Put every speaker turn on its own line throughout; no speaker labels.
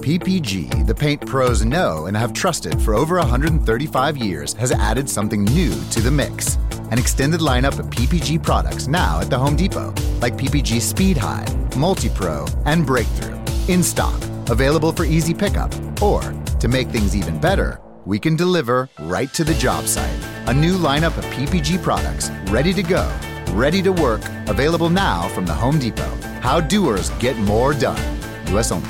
PPG, the paint pros know and have trusted for over 135 years, has added something new to the mix. An extended lineup of PPG products now at the Home Depot, like PPG Speed High, Multi-Pro, and Breakthrough. In stock, available for easy pickup, or, to make things even better, we can deliver right to the job site. A new lineup of PPG products, ready to go, ready to work, available now from the Home Depot. How doers get more done. US only.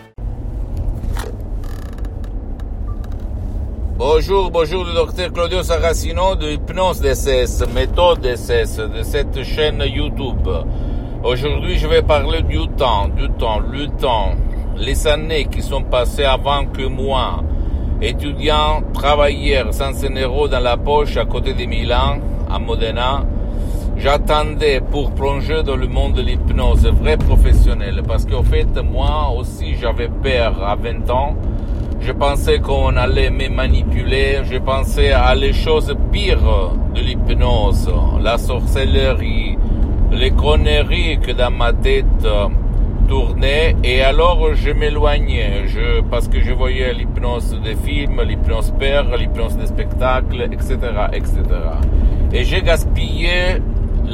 Bonjour, le docteur Claudio Saracino de Hypnose DCS, méthode DCS, de cette chaîne YouTube. Aujourd'hui, je vais parler du temps, le temps, les années qui sont passées avant que moi, étudiant, travailleur, sans un euro dans la poche à côté de Milan, à Modena, j'attendais pour plonger dans le monde de l'hypnose vrai professionnel. Parce qu'en fait, moi aussi, j'avais peur à 20 ans. Je pensais qu'on allait me manipuler, je pensais à les choses pires de l'hypnose, la sorcellerie, les conneries que dans ma tête tournaient, et alors je m'éloignais, parce que je voyais l'hypnose des films, l'hypnose père, l'hypnose des spectacles, etc., etc. Et j'ai gaspillé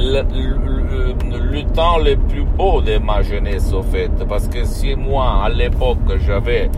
le temps le plus beau de ma jeunesse, au fait, parce que si moi, à l'époque, j'aurais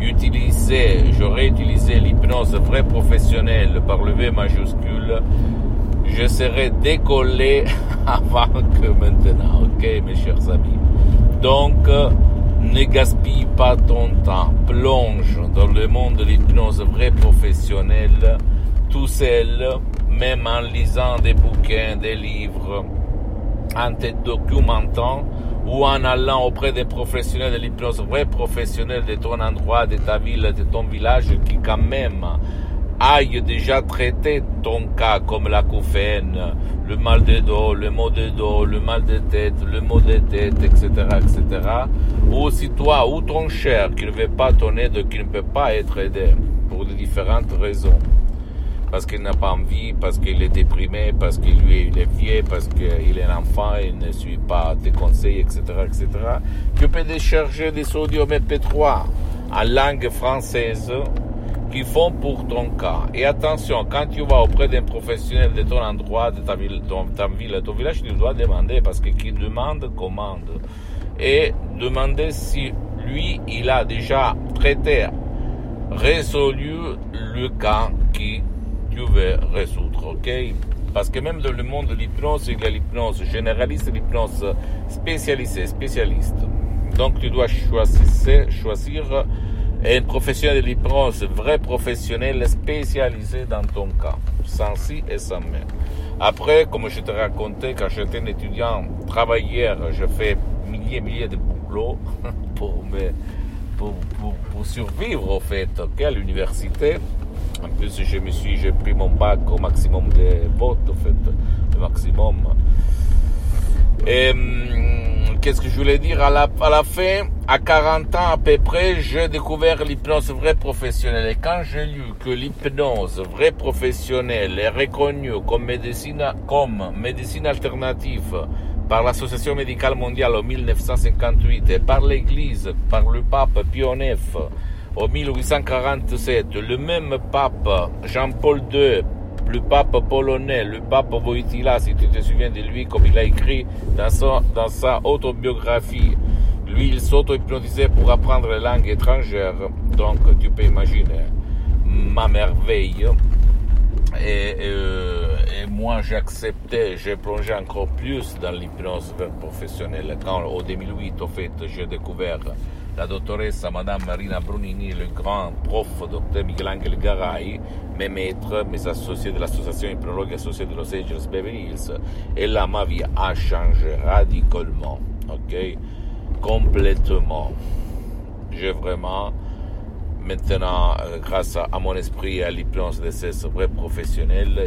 utilisé l'hypnose vrai professionnelle par le V majuscule, je serais décollé avant que maintenant, ok, mes chers amis. Donc, ne gaspille pas ton temps, plonge dans le monde de l'hypnose vrai professionnelle, tout seul, même en lisant des bouquins, des livres, en te documentant, ou en allant auprès des professionnels de l'hypnose vrai professionnel de ton endroit, de ta ville, de ton village, qui quand même aille déjà traiter ton cas comme l'acouphène, le mal de dos, le maux de dos, le mal de tête, le maux de tête, etc., etc. Ou si toi ou ton cher qui ne veut pas ton aide, qui ne peut pas être aidé pour de différentes raisons, parce qu'il n'a pas envie, parce qu'il est déprimé, parce qu'il est vieux, parce qu'il est un enfant, il ne suit pas tes conseils, etc., etc. Tu peux décharger des audios MP3 en langue française qui font pour ton cas. Et attention, quand tu vas auprès d'un professionnel de ton endroit, de ta ville, ton village, tu dois demander, parce que qui demande, commande. Et demander si lui, il a déjà traité, résolu le cas qui tu veux résoudre, ok? Parce que même dans le monde de l'hypnose, il y a l'hypnose généraliste et l'hypnose spécialiste. Donc tu dois choisir un professionnel de l'hypnose, vrai professionnel spécialisé dans ton cas, sans si et sans mais. Après, comme je te racontais, quand j'étais un étudiant travailleur, je fais milliers de boulots pour survivre, au fait, ok, à l'université. En plus, j'ai pris mon bac au maximum de votes, en fait, le maximum. Et qu'est-ce que je voulais dire à la fin, à 40 ans à peu près, j'ai découvert l'hypnose vraie professionnelle. Et quand j'ai lu que l'hypnose vraie professionnelle est reconnue comme médecine alternative par l'Association médicale mondiale en 1958 et par l'Église, par le pape Pie IX, en 1847, le même pape Jean-Paul II, le pape polonais, le pape Wojtyła, si tu te souviens de lui, comme il a écrit dans sa autobiographie, lui il s'auto-hypnotisait pour apprendre les langues étrangères, donc tu peux imaginer ma merveille. Et moi j'ai plongé encore plus dans l'hypnose professionnelle quand en 2008 au fait j'ai découvert la dottoressa Madame Marina Brunini, le grand prof Dr Michelangelo Garai, mes maîtres, mes associés de l'association hypnologue associée de Los Angeles Beverly Hills, et là ma vie a changé radicalement, ok, complètement. J'ai vraiment maintenant, grâce à mon esprit et à l'hypnose de ces vrais professionnels,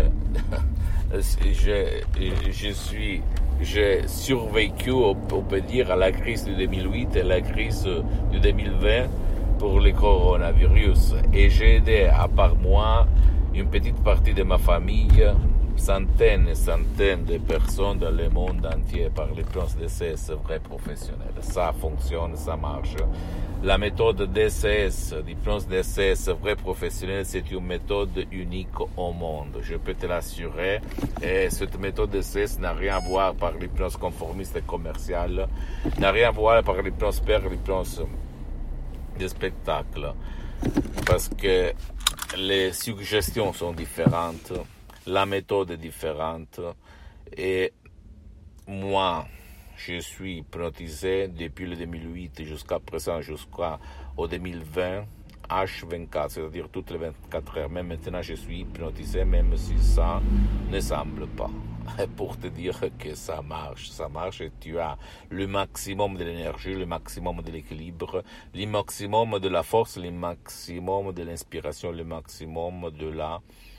j'ai survécu, on peut dire, à la crise de 2008 et la crise de 2020 pour le coronavirus. Et j'ai aidé, à part moi, une petite partie de ma famille centaines et centaines de personnes dans le monde entier par l'hypnose DCS vrai professionnel. Ça fonctionne, ça marche. La méthode DCS, l'hypnose DCS vrai professionnel, c'est une méthode unique au monde. Je peux te l'assurer. Et cette méthode DCS n'a rien à voir par l'hypnose conformiste et commerciale, n'a rien à voir par l'hypnose père, l'hypnose de spectacle. Parce que les suggestions sont différentes, la méthode est différente et moi, je suis hypnotisé depuis le 2008 jusqu'à présent, jusqu'au 2020, H24, c'est-à-dire toutes les 24 heures. Même maintenant, je suis hypnotisé, même si ça ne semble pas. Pour te dire que ça marche et tu as le maximum de l'énergie, le maximum de l'équilibre, le maximum de la force, le maximum de l'inspiration, le maximum de la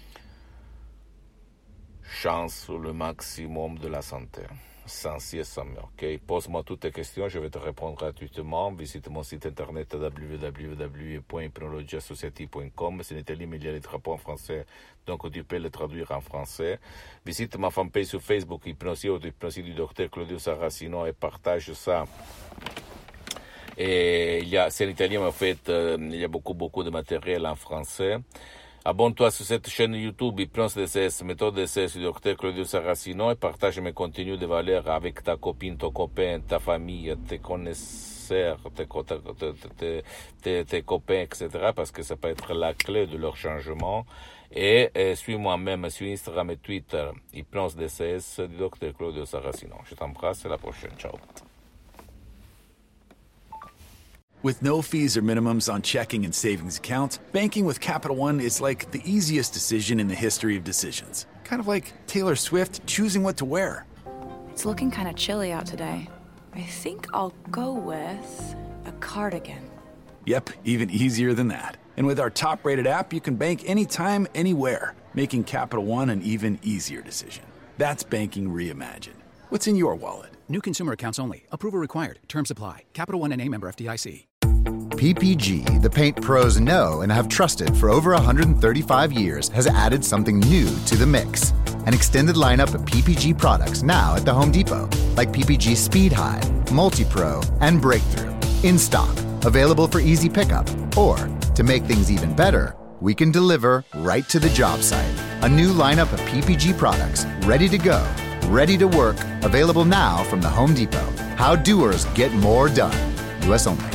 chance, le maximum de la santé. Sans si et sans mais, ok? Pose-moi toutes tes questions, je vais te répondre gratuitement. Visite mon site internet www.hypnologieassociative.com. C'est en italien, mais il y a les drapeaux en français, donc tu peux les traduire en français. Visite ma fanpage sur Facebook, Hypnosie ou Hypnosie du docteur Claudio Saracino, et partage ça. Et c'est en italien, mais en fait, il y a beaucoup de matériel en français. Abonne-toi sur cette chaîne YouTube Hypnose DCS, méthode DCS du docteur Claudio Saracino, et partage mes contenus de valeur avec ta copine, ton copain, ta famille, tes connaisseurs, tes copains, etc. parce que ça peut être la clé de leur changement. Et suis-moi même sur Instagram et Twitter, Hypnose DCS du docteur Claudio Saracino. Je t'embrasse et à la prochaine. Ciao.
With no fees or minimums on checking and savings accounts, banking with Capital One is like the easiest decision in the history of decisions. Kind of like Taylor Swift choosing what to wear.
It's looking kind of chilly out today. I think I'll go with a cardigan.
Yep, even easier than that. And with our top-rated app, you can bank anytime, anywhere, making Capital One an even easier decision. That's banking reimagined. What's in your wallet?
New consumer accounts only. Approval required. Terms apply. Capital One N.A. member FDIC.
PPG, the paint pros know and have trusted for over 135 years, has added something new to the mix. An extended lineup of PPG products now at the Home Depot, like PPG Speed High, Multi-Pro, and Breakthrough. In stock, available for easy pickup. Or, to make things even better, we can deliver right to the job site. A new lineup of PPG products, ready to go, ready to work, available now from the Home Depot. How doers get more done. U.S. only.